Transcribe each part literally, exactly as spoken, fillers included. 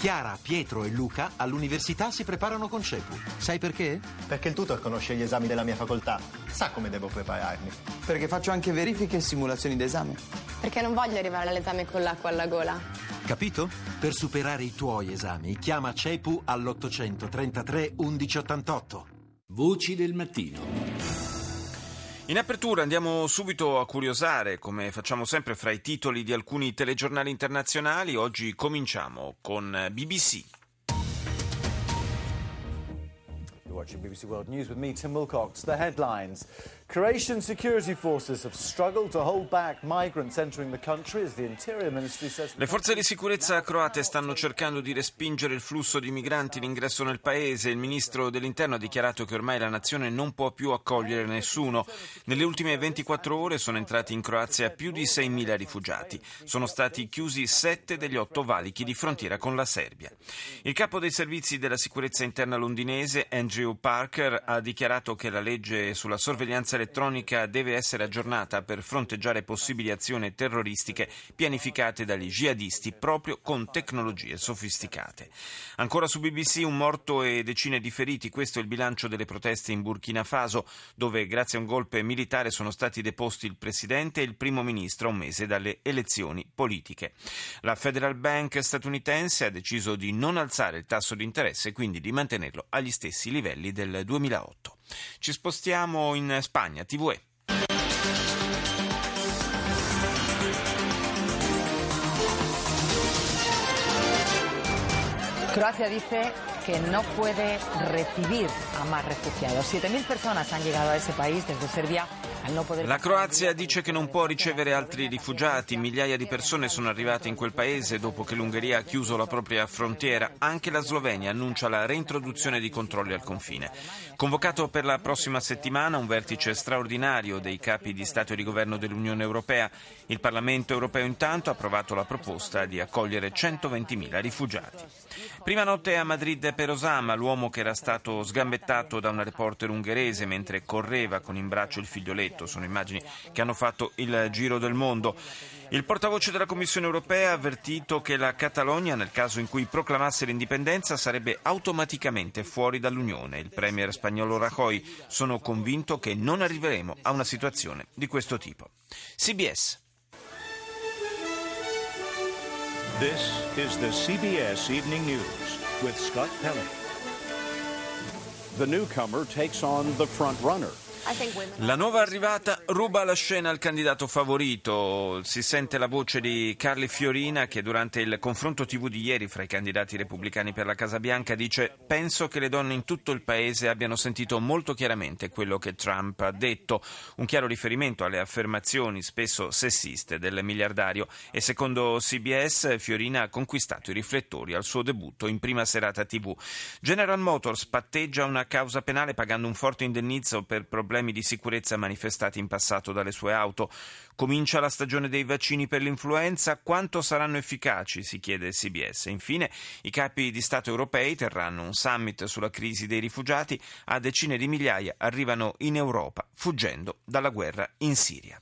Chiara, Pietro e Luca all'università si preparano con CEPU. Sai perché? Perché il tutor conosce gli esami della mia facoltà. Sa come devo prepararmi. Perché faccio anche verifiche e simulazioni d'esame. Perché non voglio arrivare all'esame con l'acqua alla gola. Capito? Per superare i tuoi esami, chiama CEPU all'ottocentotrentatré undici ottantotto. Voci del mattino. In apertura andiamo subito a curiosare, come facciamo sempre, fra i titoli di alcuni telegiornali internazionali. Oggi cominciamo con B B C. You're watching B B C World News with me, Tim Wilcox. The headlines. Croatian security forces have struggled to hold back migrants entering the country as the Interior Ministry says... Le forze di sicurezza croate stanno cercando di respingere il flusso di migranti in ingresso nel paese. Il ministro dell'Interno ha dichiarato che ormai la nazione non può più accogliere nessuno. Nelle ultime ventiquattro ore sono entrati in Croazia più di seimila rifugiati. Sono stati chiusi sette degli otto valichi di frontiera con la Serbia. Il capo dei servizi della sicurezza interna londinese, Andrew Parker, ha dichiarato che la legge sulla sorveglianza elettronica deve essere aggiornata per fronteggiare possibili azioni terroristiche pianificate dagli jihadisti proprio con tecnologie sofisticate. Ancora su B B C, un morto e decine di feriti. Questo è il bilancio delle proteste in Burkina Faso, dove grazie a un golpe militare sono stati deposti il presidente e il primo ministro a un mese dalle elezioni politiche. La Federal Bank statunitense ha deciso di non alzare il tasso di interesse e quindi di mantenerlo agli stessi livelli del duemilaotto. Ci spostiamo in Spagna, T V E. Croacia dice que no puede recibir a más refugiados. siete mil personas han llegado a ese país desde Serbia. La Croazia dice che non può ricevere altri rifugiati. Migliaia di persone sono arrivate in quel paese dopo che l'Ungheria ha chiuso la propria frontiera. Anche la Slovenia annuncia la reintroduzione di controlli al confine. Convocato per la prossima settimana un vertice straordinario dei capi di Stato e di Governo dell'Unione Europea. Il Parlamento europeo intanto ha approvato la proposta di accogliere centoventimila rifugiati. Prima notte a Madrid per Osama, l'uomo che era stato sgambettato da una reporter ungherese mentre correva con in braccio il figlioletto. Sono immagini che hanno fatto il giro del mondo. Il portavoce della Commissione europea ha avvertito che la Catalogna, nel caso in cui proclamasse l'indipendenza, sarebbe automaticamente fuori dall'Unione. Il premier spagnolo Rajoy: sono convinto che non arriveremo a una situazione di questo tipo. C B S. This is the C B S Evening News with Scott Pelley. The newcomer takes on the front runner. La nuova arrivata ruba la scena al candidato favorito. Si sente la voce di Carly Fiorina che durante il confronto tivù di ieri fra i candidati repubblicani per la Casa Bianca dice: penso che le donne in tutto il paese abbiano sentito molto chiaramente quello che Trump ha detto, un chiaro riferimento alle affermazioni spesso sessiste del miliardario, e secondo C B S Fiorina ha conquistato i riflettori al suo debutto in prima serata tivù. General Motors patteggia una causa penale pagando un forte indennizzo per problemi di sicurezza manifestati in passato dalle sue auto. Comincia la stagione dei vaccini per l'influenza. Quanto saranno efficaci? Si chiede C B S. Infine, i capi di Stato europei terranno un summit sulla crisi dei rifugiati. A decine di migliaia arrivano in Europa fuggendo dalla guerra in Siria.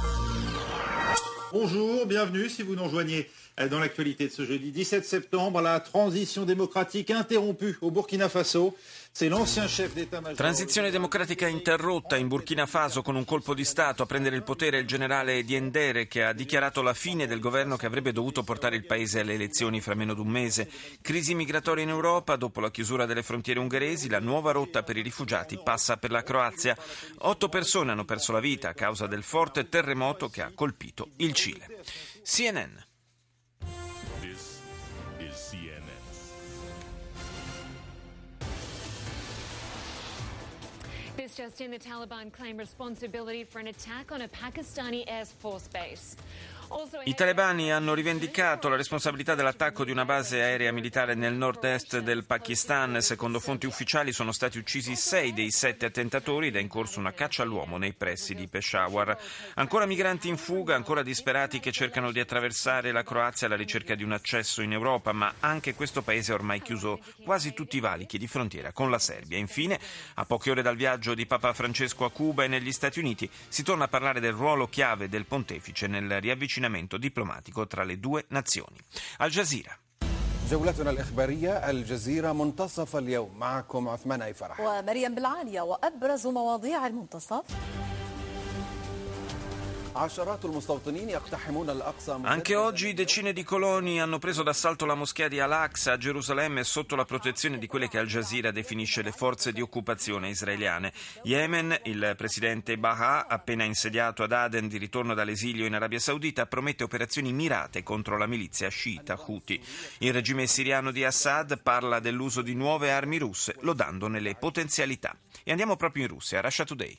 Bonjour, bienvenue si vous nous rejoignez dans l'actualité de ce jeudi dix-sept septembre. La transition démocratique interrompue au Burkina Faso. C'est l'ancien chef d'état-major. Transizione democratica interrotta in Burkina Faso con un colpo di Stato. A prendere il potere il generale Diendere, che ha dichiarato la fine del governo che avrebbe dovuto portare il paese alle elezioni fra meno di un mese. Crisi migratoria in Europa. Dopo la chiusura delle frontiere ungheresi, la nuova rotta per i rifugiati passa per la Croazia. Otto persone hanno perso la vita a causa del forte terremoto che ha colpito il Cile. C N N. This just in, the Taliban claim responsibility for an attack on a Pakistani Air Force base. I talebani hanno rivendicato la responsabilità dell'attacco di una base aerea militare nel nord-est del Pakistan. Secondo fonti ufficiali sono stati uccisi sei dei sette attentatori ed è in corso una caccia all'uomo nei pressi di Peshawar. Ancora migranti in fuga, ancora disperati che cercano di attraversare la Croazia alla ricerca di un accesso in Europa, ma anche questo paese ha ormai chiuso quasi tutti i valichi di frontiera con la Serbia. Infine, a poche ore dal viaggio di Papa Francesco a Cuba e negli Stati Uniti, si torna a parlare del ruolo chiave del pontefice nel riavvicinamento diplomatico tra le due nazioni. Al Jazeera. جولتنا الإخبارية الجزيرة منتصف اليوم معكم عثمان أي فرح ومريم بالعالية وأبرز مواضيع المنتصف. Anche oggi decine di coloni hanno preso d'assalto la moschea di Al-Aqsa a Gerusalemme sotto la protezione di quelle che Al Jazeera definisce le forze di occupazione israeliane. Yemen, il presidente Baha, appena insediato ad Aden di ritorno dall'esilio in Arabia Saudita, promette operazioni mirate contro la milizia sciita Houthi. Il regime siriano di Assad parla dell'uso di nuove armi russe, lodandone le potenzialità. E andiamo proprio in Russia, Russia Today.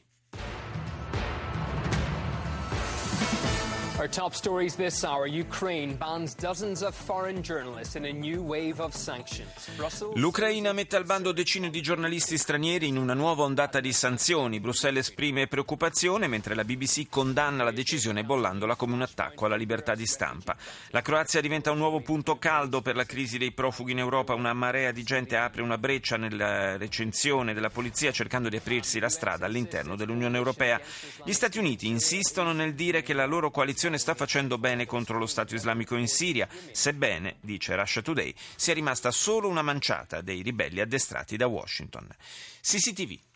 Our top stories this hour. Ukraine bans dozens of foreign journalists in a new wave of sanctions. Brussels... L'Ucraina mette al bando decine di giornalisti stranieri in una nuova ondata di sanzioni. Bruxelles esprime preoccupazione mentre la B B C condanna la decisione bollandola come un attacco alla libertà di stampa. La Croazia diventa un nuovo punto caldo per la crisi dei profughi in Europa. Una marea di gente apre una breccia nella recensione della polizia cercando di aprirsi la strada all'interno dell'Unione Europea. Gli Stati Uniti insistono nel dire che la loro coalizione sta facendo bene contro lo Stato islamico in Siria, sebbene, dice Russia Today, sia rimasta solo una manciata dei ribelli addestrati da Washington. C C T V.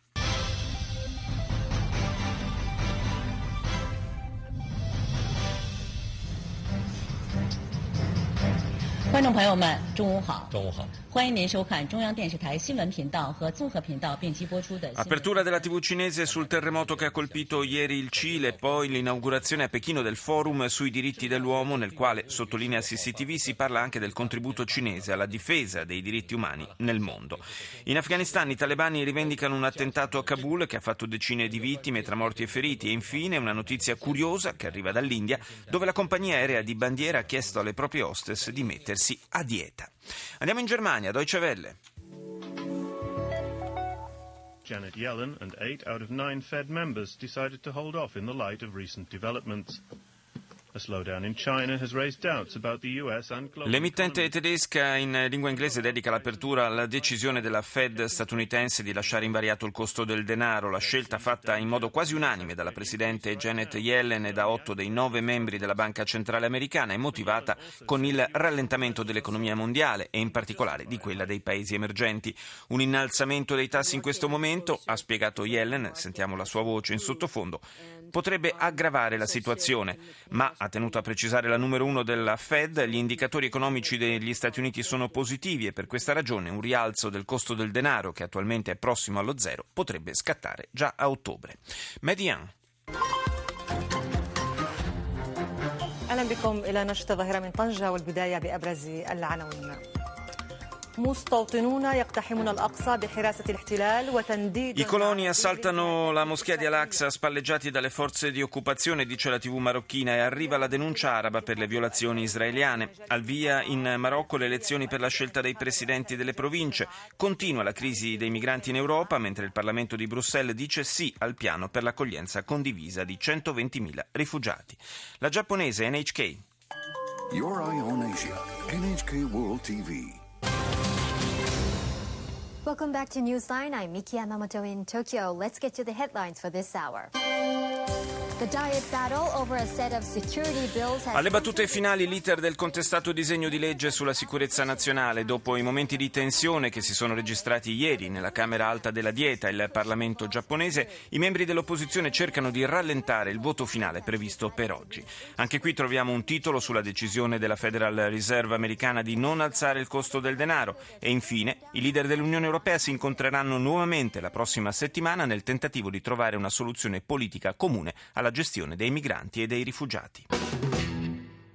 Apertura della tivù cinese sul terremoto che ha colpito ieri il Cile, poi l'inaugurazione a Pechino del forum sui diritti dell'uomo, nel quale, sottolinea C C T V, si parla anche del contributo cinese alla difesa dei diritti umani nel mondo. In Afghanistan i talebani rivendicano un attentato a Kabul che ha fatto decine di vittime tra morti e feriti, e infine una notizia curiosa che arriva dall'India, dove la compagnia aerea di bandiera ha chiesto alle proprie hostess di mettersi a dieta. Andiamo in Germania, Deutsche Welle. Janet Yellen and eight out of nine Fed members decided to hold off in the light of recent developments. L'emittente tedesca in lingua inglese dedica l'apertura alla decisione della Fed statunitense di lasciare invariato il costo del denaro. La scelta, fatta in modo quasi unanime dalla presidente Janet Yellen e da otto dei nove membri della Banca Centrale Americana, è motivata con il rallentamento dell'economia mondiale e in particolare di quella dei paesi emergenti. Un innalzamento dei tassi in questo momento, ha spiegato Yellen, sentiamo la sua voce in sottofondo, potrebbe aggravare la situazione, ma ha tenuto a precisare la numero uno della Fed, gli indicatori economici degli Stati Uniti sono positivi e per questa ragione un rialzo del costo del denaro, che attualmente è prossimo allo zero, potrebbe scattare già a ottobre. Median. أهلا بكم إلى نشرة الظاهرة من طنجة والبداية بأبرز العناوين. I coloni assaltano la moschea di Al-Aqsa spalleggiati dalle forze di occupazione, dice la tivù marocchina, e arriva la denuncia araba per le violazioni israeliane. Al via in Marocco le elezioni per la scelta dei presidenti delle province. Continua la crisi dei migranti in Europa, mentre il Parlamento di Bruxelles dice sì al piano per l'accoglienza condivisa di centoventimila rifugiati. La giapponese N H K. Your Eye on Asia, N H K World T V. Welcome back to Newsline. I'm Miki Yamamoto in Tokyo. Let's get to the headlines for this hour. The diet battle over a set of security bills has... Alle battute finali l'iter del contestato disegno di legge sulla sicurezza nazionale. Dopo i momenti di tensione che si sono registrati ieri nella Camera Alta della Dieta, il Parlamento giapponese, i membri dell'opposizione cercano di rallentare il voto finale previsto per oggi. Anche qui troviamo un titolo sulla decisione della Federal Reserve americana di non alzare il costo del denaro e infine i leader dell'Unione Europea si incontreranno nuovamente la prossima settimana nel tentativo di trovare una soluzione politica comune alla gestione dei migranti e dei rifugiati.